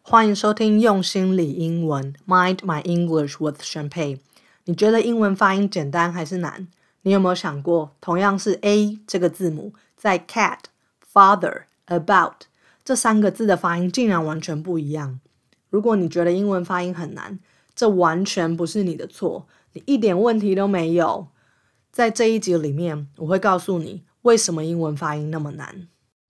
欢迎收听用心理英文 Mind My English with Champagne。 你觉得英文发音简单还是难？你有没有想过，同样是 A 这个字母，在 cat、father、about 这三个字的发音竟然完全不一样？如果你觉得英文发音很难，这完全不是你的错，你一点问题都没有。在这一集里面，我会告诉你为什么英文发音那么难。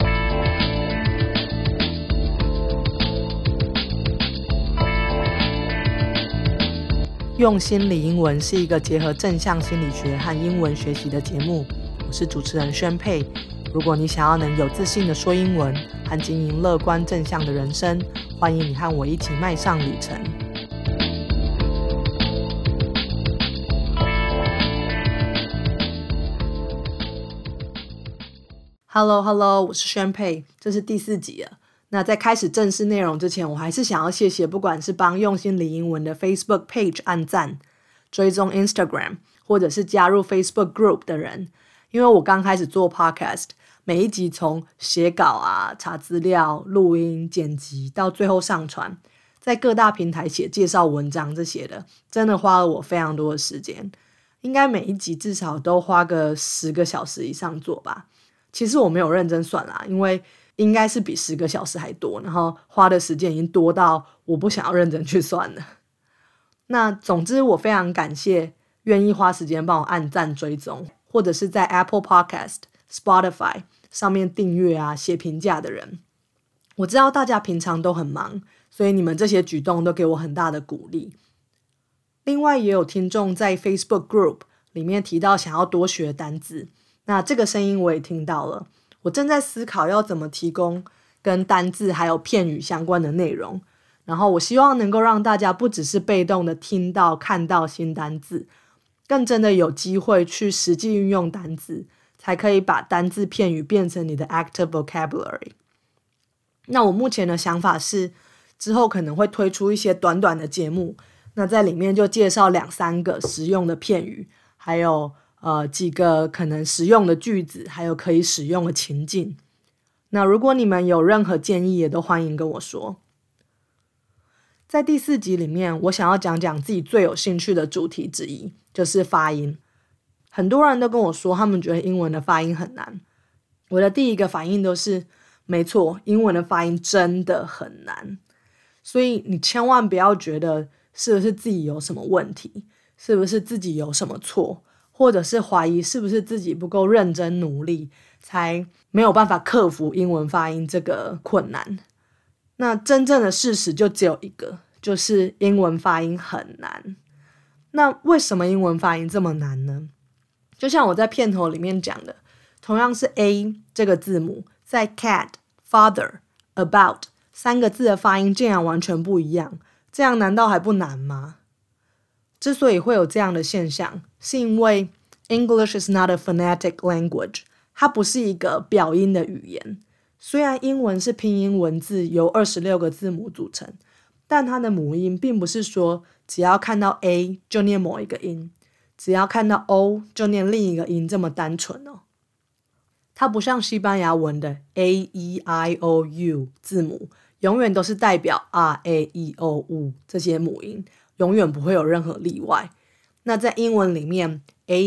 用心理英文是一个结合正向心理学和英文学习的节目，我是主持人宣佩。如果你想要能有自信的说英文和经营乐观正向的人生，欢迎你和我一起迈上旅程。Hello， 我是宣佩，这是第4集了。那在开始正式内容之前，我还是想要谢谢不管是帮用心理英文的 Facebook page 按赞、追踪 Instagram 或者是加入 Facebook group 的人。因为我刚开始做 podcast， 每一集从写稿啊、查资料、录音、剪辑到最后上传，在各大平台写介绍文章这些的，真的花了我非常多的时间，应该每一集至少都花个10个小时以上做吧。其实我没有认真算啦，因为应该是比10个小时还多，然后花的时间已经多到我不想要认真去算了。那总之我非常感谢愿意花时间帮我按赞追踪，或者是在 Apple Podcast、Spotify 上面订阅啊、写评价的人。我知道大家平常都很忙，所以你们这些举动都给我很大的鼓励。另外也有听众在 Facebook Group 里面提到想要多学单字，那这个声音我也听到了。我正在思考要怎么提供跟单字还有片语相关的内容，然后我希望能够让大家不只是被动的听到看到新单字，更真的有机会去实际运用单字，才可以把单字片语变成你的 active vocabulary。 那我目前的想法是，之后可能会推出一些短短的节目，那在里面就介绍2-3个实用的片语，还有几个可能实用的句子，还有可以使用的情境。那如果你们有任何建议，也都欢迎跟我说。在第4集里面，我想要讲讲自己最有兴趣的主题之一，就是发音。很多人都跟我说，他们觉得英文的发音很难。我的第一个反应都是，没错，英文的发音真的很难。所以你千万不要觉得是不是自己有什么问题，是不是自己有什么错，或者是怀疑是不是自己不够认真努力，才没有办法克服英文发音这个困难。那真正的事实就只有一个，就是英文发音很难。那为什么英文发音这么难呢？就像我在片头里面讲的，同样是 A 这个字母，在 cat、father、about 3个字的发音竟然完全不一样，这样难道还不难吗？之所以会有这样的现象，是因为 English is not a phonetic language， 它不是一个表音的语言。虽然英文是拼音文字，由26个字母组成，但它的母音并不是说只要看到 A 就念某一个音，只要看到 O 就念另一个音这么单纯哦。它不像西班牙文的 A、E、I、O、U 字母，永远都是代表 R、A、E、O、U 这些母音，永远不会有任何例外。那在英文里面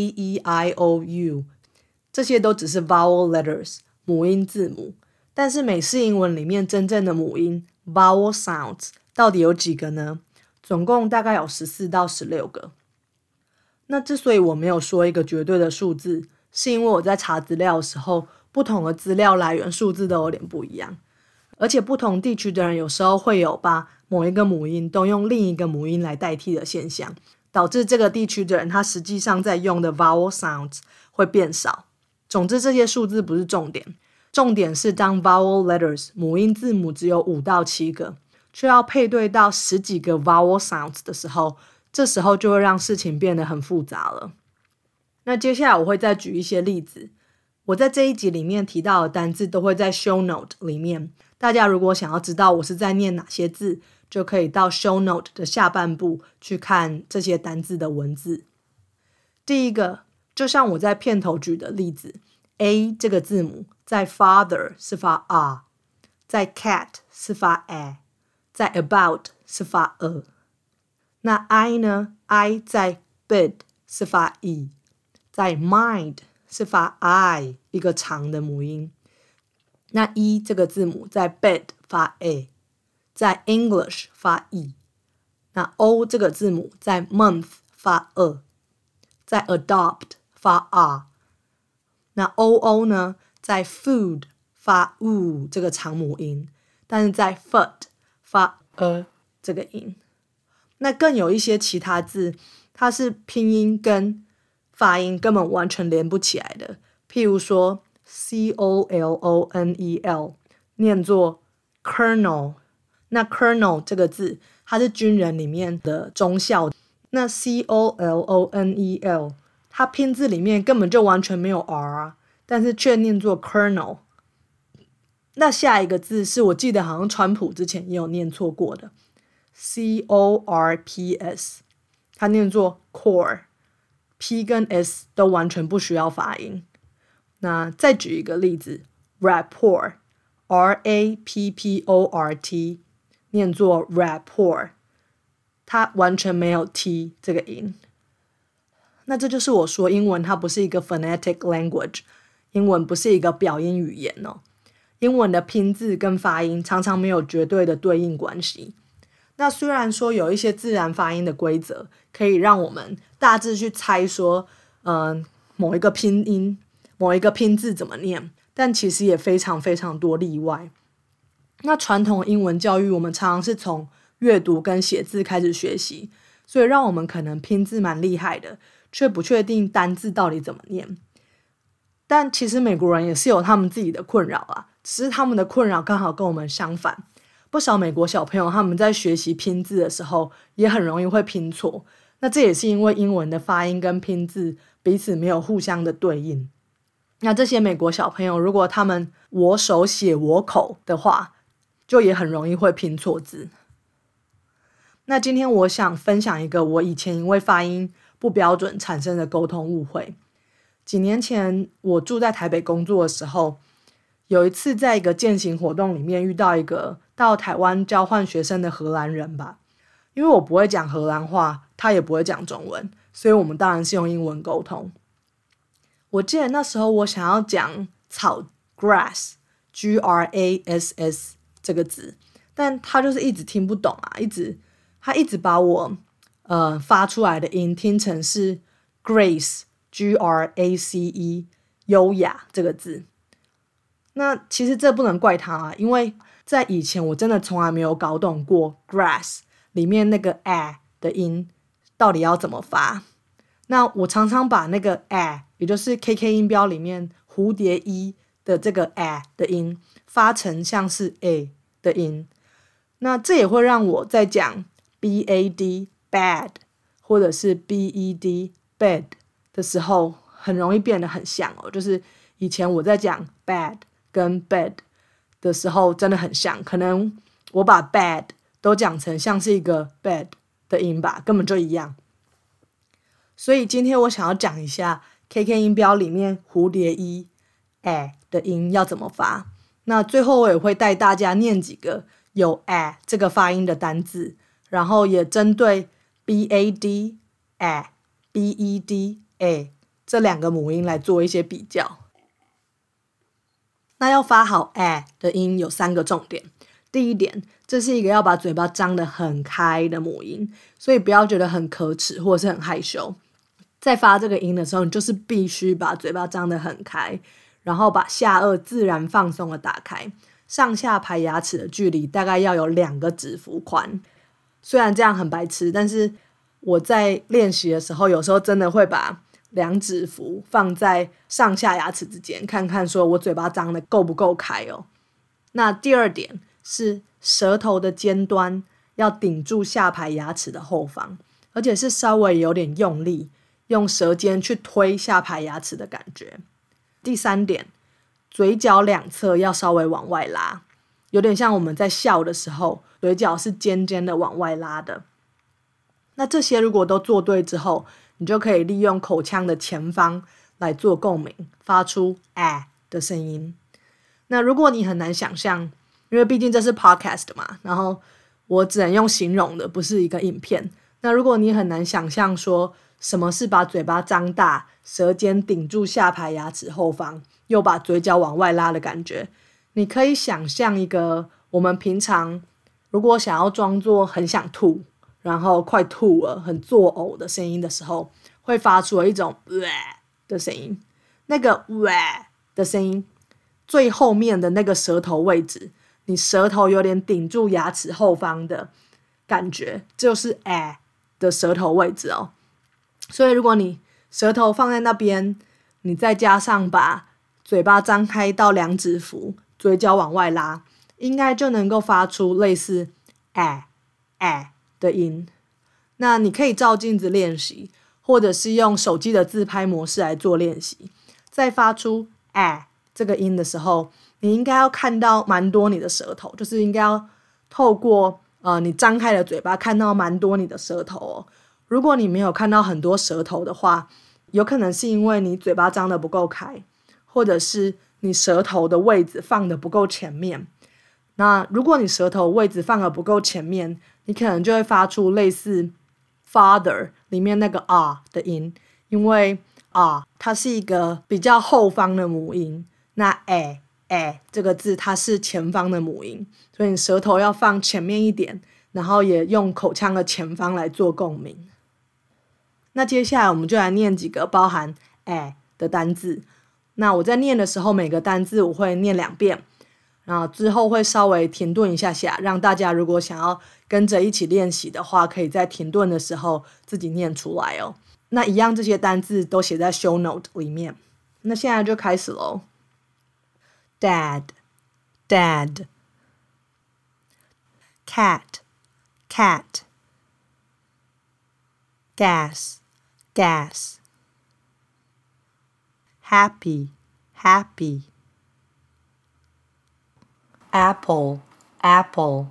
A、E、I、O、U 这些都只是 vowel letters 母音字母，但是美式英文里面真正的母音 vowel sounds 到底有几个呢？总共大概有14到16个。那之所以我没有说一个绝对的数字，是因为我在查资料的时候，不同的资料来源数字都有点不一样，而且不同地区的人有时候会有把某一个母音都用另一个母音来代替的现象，导致这个地区的人他实际上在用的 vowel sounds 会变少。总之这些数字不是重点，重点是当 vowel letters 母音字母只有5到7个，却要配对到10几个 vowel sounds 的时候，这时候就会让事情变得很复杂了。那接下来我会再举一些例子，我在这一集里面提到的单字都会在 show note 里面，大家如果想要知道我是在念哪些字，就可以到 show note 的下半部去看这些单字的文字。第一个，就像我在片头举的例子， A 这个字母在 father 是发 R， 在 cat 是发 A， 在 about 是发那 I 呢 I 在 bid 是发 在 mind 是发 I 一个长的母音。那 这个字母在 bed 发 在 English 发 那 O 这个字母在 month 发在 adopt 发 那 OO 呢在 food 发这个长母音，但是在 foot 发这个音。那更有一些其他字它是拼音跟发音根本完全连不起来的，譬如说 COLONEL 念作 colonel， 那 colonel 这个字它是军人里面的中校，那 COLONEL 它拼字里面根本就完全没有 R 但是却念作 colonel。 那下一个字是我记得好像川普之前也有念错过的 CORPS， 它念作 core， P 跟 S 都完全不需要发音。那再举一个例子 rapport RAPPORT 念作 rapport， 它完全没有 T 这个音。那这就是我说英文它不是一个 phonetic language， 英文不是一个表音语言英文的拼字跟发音常常没有绝对的对应关系。那虽然说有一些自然发音的规则可以让我们大致去猜说某一个拼音某一个拼字怎么念，但其实也非常非常多例外。那传统英文教育我们常常是从阅读跟写字开始学习，所以让我们可能拼字蛮厉害的，却不确定单字到底怎么念。但其实美国人也是有他们自己的困扰只是他们的困扰刚好跟我们相反。不少美国小朋友他们在学习拼字的时候也很容易会拼错，那这也是因为英文的发音跟拼字彼此没有互相的对应。那这些美国小朋友如果他们我手写我口的话，就也很容易会拼错字。那今天我想分享一个我以前因为发音不标准产生的沟通误会。几年前我住在台北工作的时候，有一次在一个健行活动里面遇到一个到台湾交换学生的荷兰人吧。因为我不会讲荷兰话，他也不会讲中文，所以我们当然是用英文沟通。我记得那时候我想要讲草 grass Grass 这个字，但他就是一直听不懂他一直把我发出来的音听成是 Grace Grace 优雅这个字。那其实这不能怪他因为在以前我真的从来没有搞懂过 grass 里面那个 的音到底要怎么发。那我常常把那个也就是 KK 音标里面蝴蝶一的这个的音发成像是 A 的音，那这也会让我在讲 BAD bad 或者是 BED bed 的时候很容易变得很像就是以前我在讲 bad 跟 bed 的时候真的很像，可能我把 bad 都讲成像是一个 bed 的音吧，根本就一样。所以今天我想要讲一下 KK 音标里面蝴蝶一的音要怎么发。那最后我也会带大家念几个有这个发音的单字，然后也针对 BAD BED这两个母音来做一些比较。那要发好的音有3个重点。第一点，这是一个要把嘴巴张得很开的母音，所以不要觉得很可耻或者是很害羞。在发这个音的时候，你就是必须把嘴巴张得很开，然后把下颚自然放松的打开，上下排牙齿的距离大概要有2个指幅宽。虽然这样很白痴，但是我在练习的时候有时候真的会把2指幅放在上下牙齿之间，看看说我嘴巴张得够不够开那第二点是舌头的尖端要顶住下排牙齿的后方，而且是稍微有点用力，用舌尖去推下排牙齿的感觉。第3点，嘴角2侧要稍微往外拉，有点像我们在笑的时候嘴角是尖尖的往外拉的。那这些如果都做对之后，你就可以利用口腔的前方来做共鸣，发出的声音。那如果你很难想象，因为毕竟这是 podcast 嘛，然后我只能用形容的，不是一个影片。那如果你很难想象说什么是把嘴巴张大，舌尖顶住下排牙齿后方，又把嘴角往外拉的感觉，你可以想象一个我们平常如果想要装作很想吐，然后快吐了，很作呕的声音的时候，会发出一种的声音。那个的声音最后面的那个舌头位置，你舌头有点顶住牙齿后方的感觉，就是的舌头位置哦。所以如果你舌头放在那边，你再加上把嘴巴张开到2指幅，嘴角往外拉，应该就能够发出类似的音。那你可以照镜子练习，或者是用手机的自拍模式来做练习。在发出这个音的时候，你应该要看到蛮多你的舌头，就是应该要透过你张开的嘴巴看到蛮多你的舌头哦。如果你没有看到很多舌头的话，有可能是因为你嘴巴张得不够开，或者是你舌头的位置放得不够前面。那如果你舌头位置放得不够前面，你可能就会发出类似 father 里面那个的音，因为它是一个比较后方的母音，那这个字它是前方的母音，所以你舌头要放前面一点，然后也用口腔的前方来做共鸣。那接下来我们就来念几个包含的单字。那我在念的时候，每个单字我会念2遍，然后之后会稍微停顿一下下，让大家如果想要跟着一起练习的话，可以在停顿的时候自己念出来哦。那一样这些单字都写在 show note 里面。那现在就开始咯。 Dad Dad Cat Cat Gas Gas Happy Happy Apple Apple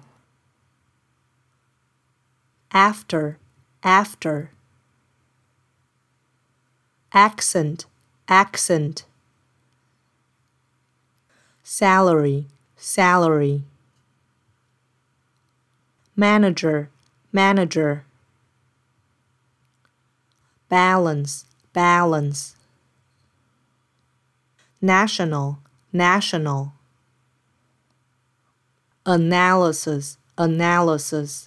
After After Accent Accent Salary Salary Manager Manager Balance Balance National National Analysis Analysis。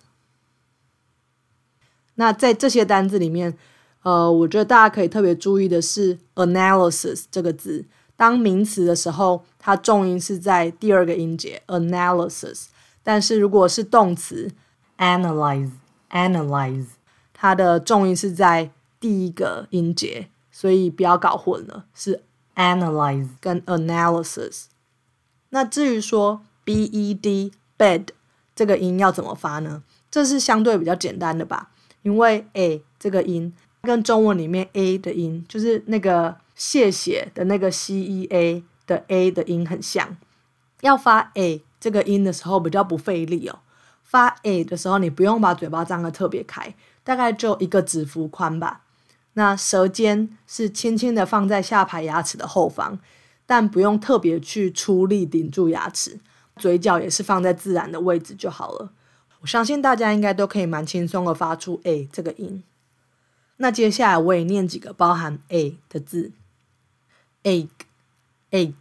那在这些单字里面我觉得大家可以特别注意的是 analysis 这个字，当名词的时候它重音是在第2个音节 analysis， 但是如果是动词 analyze analyze， 它的重音是在第1个音节，所以不要搞混了，是 analyze 跟 analysis。 那至于说 bed bed 这个音要怎么发呢？这是相对比较简单的吧，因为 a 这个音跟中文里面 a 的音，就是那个谢谢的那个 CEA 的 a 的音很像。要发 a 这个音的时候比较不费力哦。发 a 的时候你不用把嘴巴张得特别开，大概就1个指幅宽吧。那舌尖是轻轻的放在下排牙齿的后方，但不用特别去出力顶住牙齿，嘴角也是放在自然的位置就好了。我相信大家应该都可以蛮轻松的发出 a 这个音。那接下来我也念几个包含 a 的字。 egg egg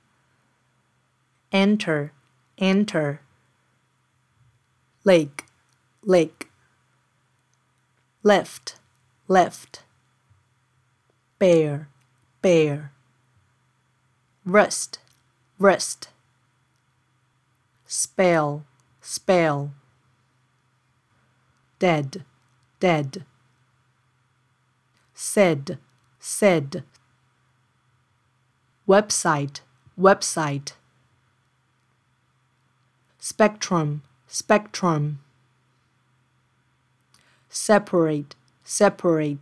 Enter Enter Lake Lake Left Left Bear Bear Wrist Wrist Spell Spell Dead Dead Said Said Website Website Spectrum Spectrum Separate Separate。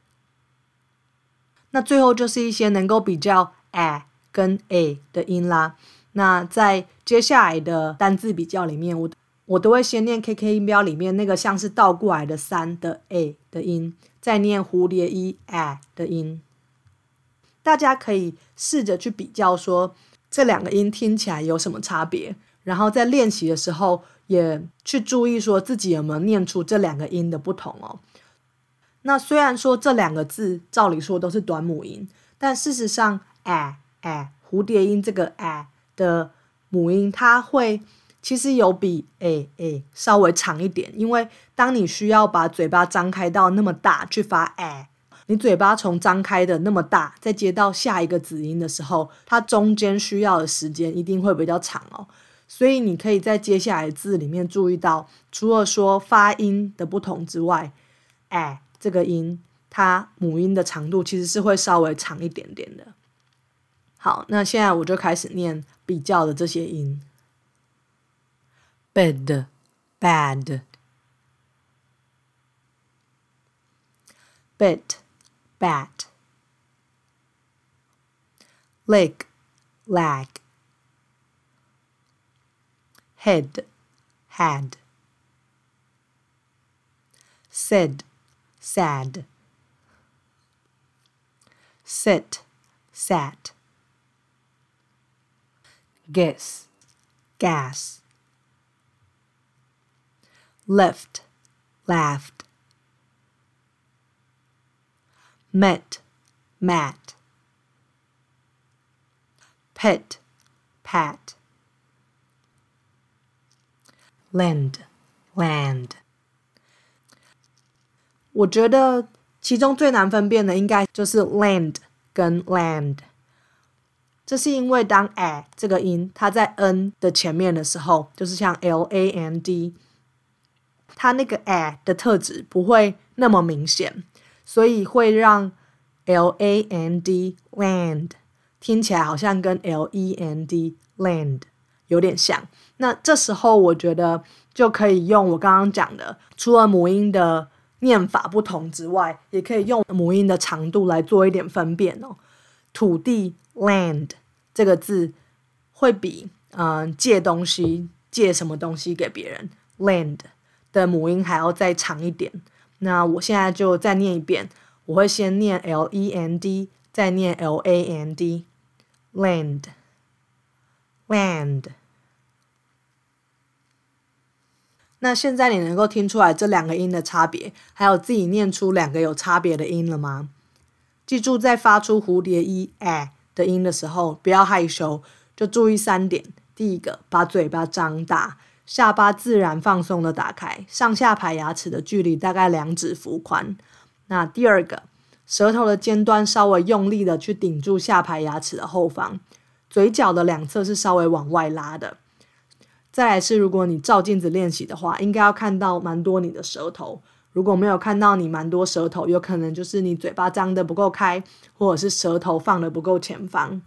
那最后就是一些能够比较 跟 a 的音啦。那在接下来的单字比较里面，我都会先念 KK 音标里面那个像是倒过来的3的 a 的音，再念蝴蝶衣 的音。大家可以试着去比较说这2个音听起来有什么差别，然后在练习的时候也去注意说自己有没有念出这两个音的不同哦。那虽然说这两个字照理说都是短母音，但事实上蝴蝶音这个的母音它会其实有比稍微长一点，因为当你需要把嘴巴张开到那么大去发你嘴巴从张开的那么大再接到下一个子音的时候，它中间需要的时间一定会比较长哦。所以你可以在接下来的字里面注意到，除了说发音的不同之外，这个音它母音的长度其实是会稍微长一点点的。好，那现在我就开始念比较的这些音。bed, bad, bit, bat, leg, lag, head, had, said, sad, sit, sat, guess, gas, left, laughed, met, mat, pet, pat, lend, land。 我觉得其中最难分辨的应该就是 land 跟 land， 这是因为当这个音它在 n 的前面的时候，就是像 land， 它那个的特质不会那么明显，所以会让 land land 听起来好像跟 lend land 有点像。那这时候我觉得就可以用我刚刚讲的，除了母音的念法不同之外，也可以用母音的长度来做一点分辨哦。土地 land 这个字会比借东西借什么东西给别人 land 的母音还要再长一点。那我现在就再念一遍，我会先念 lend 再念 land land land。那现在你能够听出来这两个音的差别，还有自己念出两个有差别的音了吗？记住在发出蝴蝶衣的音的时候不要害羞，就注意3点。第一个，把嘴巴张大，下巴自然放松的打开，上下排牙齿的距离大概2指幅宽。那第二个，舌头的尖端稍微用力的去顶住下排牙齿的后方，嘴角的2侧是稍微往外拉的。再来是，如果你照镜子练习的话，应该要看到蛮多你的舌头。如果没有看到你蛮多舌头，有可能就是你嘴巴张得不够开，或者是舌头放得不够前方。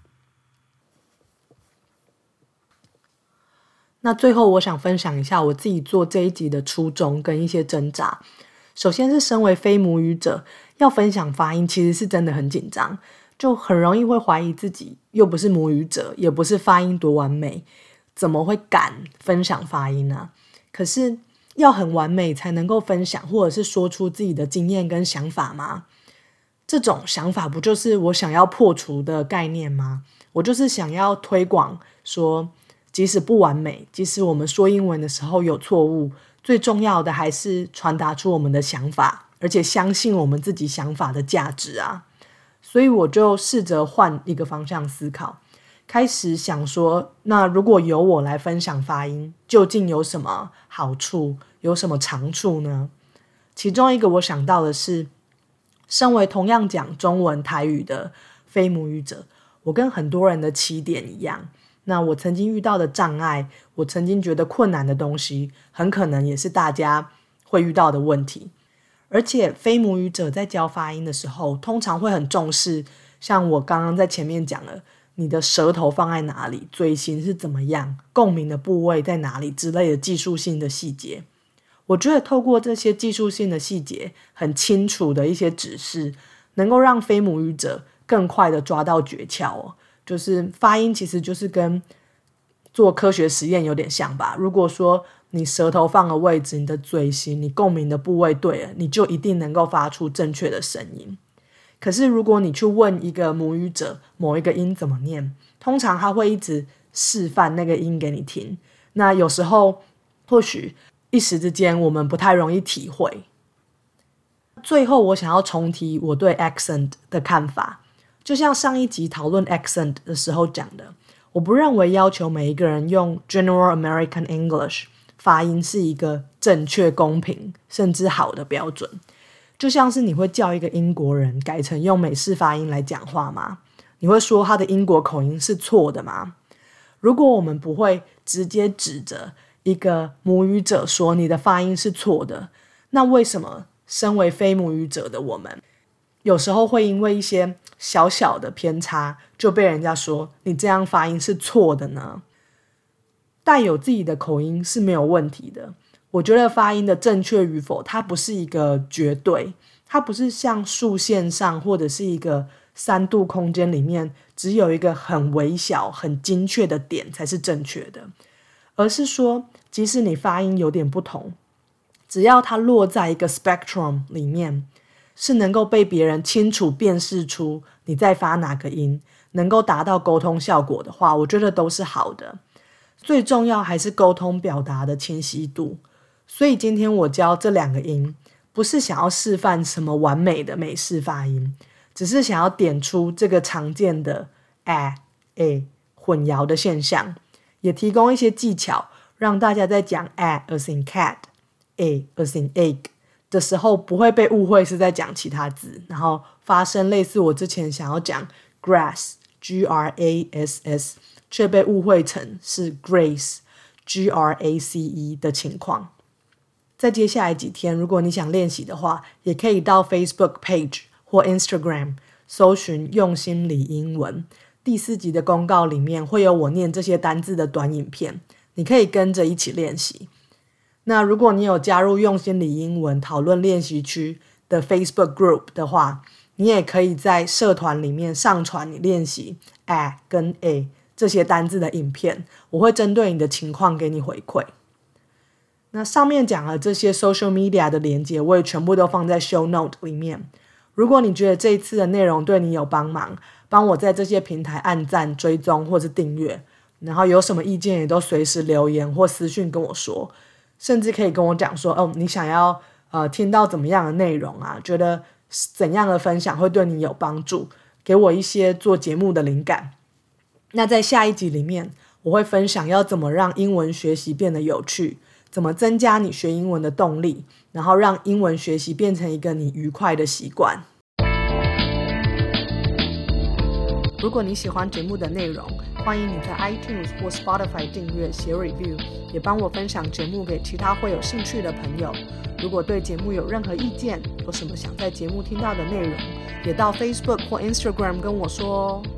那最后我想分享一下我自己做这一集的初衷跟一些挣扎。首先是身为非母语者，要分享发音其实是真的很紧张，就很容易会怀疑自己，又不是母语者，也不是发音多完美，怎么会敢分享发音呢？可是要很完美才能够分享，或者是说出自己的经验跟想法吗？这种想法不就是我想要破除的概念吗？我就是想要推广说，即使不完美，即使我们说英文的时候有错误，最重要的还是传达出我们的想法，而且相信我们自己想法的价值啊。所以我就试着换一个方向思考，开始想说，那如果由我来分享发音，究竟有什么好处，有什么长处呢？其中一个我想到的是，身为同样讲中文台语的非母语者，我跟很多人的起点一样，那我曾经遇到的障碍，我曾经觉得困难的东西，很可能也是大家会遇到的问题。而且非母语者在教发音的时候，通常会很重视，像我刚刚在前面讲了，你的舌头放在哪里，嘴型是怎么样，共鸣的部位在哪里之类的技术性的细节。我觉得透过这些技术性的细节，很清楚的一些指示，能够让非母语者更快的抓到诀窍哦。就是发音其实就是跟做科学实验有点像吧。如果说你舌头放的位置，你的嘴型，你共鸣的部位对了，你就一定能够发出正确的声音。可是如果你去问一个母语者某一个音怎么念，通常他会一直示范那个音给你听。那有时候或许一时之间我们不太容易体会。最后我想要重提我对 accent 的看法，就像上一集讨论 accent 的时候讲的，我不认为要求每一个人用 General American English 发音是一个正确、公平甚至好的标准。就像是你会叫一个英国人改成用美式发音来讲话吗？你会说他的英国口音是错的吗？如果我们不会直接指着一个母语者说你的发音是错的，那为什么身为非母语者的我们有时候会因为一些小小的偏差就被人家说你这样发音是错的呢？带有自己的口音是没有问题的，我觉得发音的正确与否它不是一个绝对，它不是像数线上或者是一个3度空间里面只有一个很微小很精确的点才是正确的，而是说即使你发音有点不同，只要它落在一个 spectrum 里面，是能够被别人清楚辨识出你在发哪个音，能够达到沟通效果的话，我觉得都是好的。最重要还是沟通表达的清晰度。所以今天我教这2个音，不是想要示范什么完美的美式发音，只是想要点出这个常见的 混淆的现象，也提供一些技巧，让大家在讲 as in cat、as in egg 的时候不会被误会是在讲其他字，然后发生类似我之前想要讲 grass、grass 却被误会成是 grace、grace 的情况。在接下来几天，如果你想练习的话，也可以到 Facebook page 或 Instagram 搜寻用心理英文。第4集的公告里面会有我念这些单字的短影片，你可以跟着一起练习。那如果你有加入用心理英文讨论练习区的 Facebook group 的话，你也可以在社团里面上传你练习 跟 这些单字的影片，我会针对你的情况给你回馈。那上面讲了这些 social media 的连结，我也全部都放在 show note 里面。如果你觉得这一次的内容对你有帮忙，帮我在这些平台按赞、追踪或是订阅，然后有什么意见也都随时留言或私讯跟我说，甚至可以跟我讲说你想要听到怎么样的内容啊，觉得怎样的分享会对你有帮助，给我一些做节目的灵感。那在下一集里面，我会分享要怎么让英文学习变得有趣，怎么增加你学英文的动力，然后让英文学习变成一个你愉快的习惯。如果你喜欢节目的内容，欢迎你在 iTunes 或 Spotify 订阅写 review， 也帮我分享节目给其他会有兴趣的朋友。如果对节目有任何意见，有什么想在节目听到的内容，也到 Facebook 或 Instagram 跟我说哦。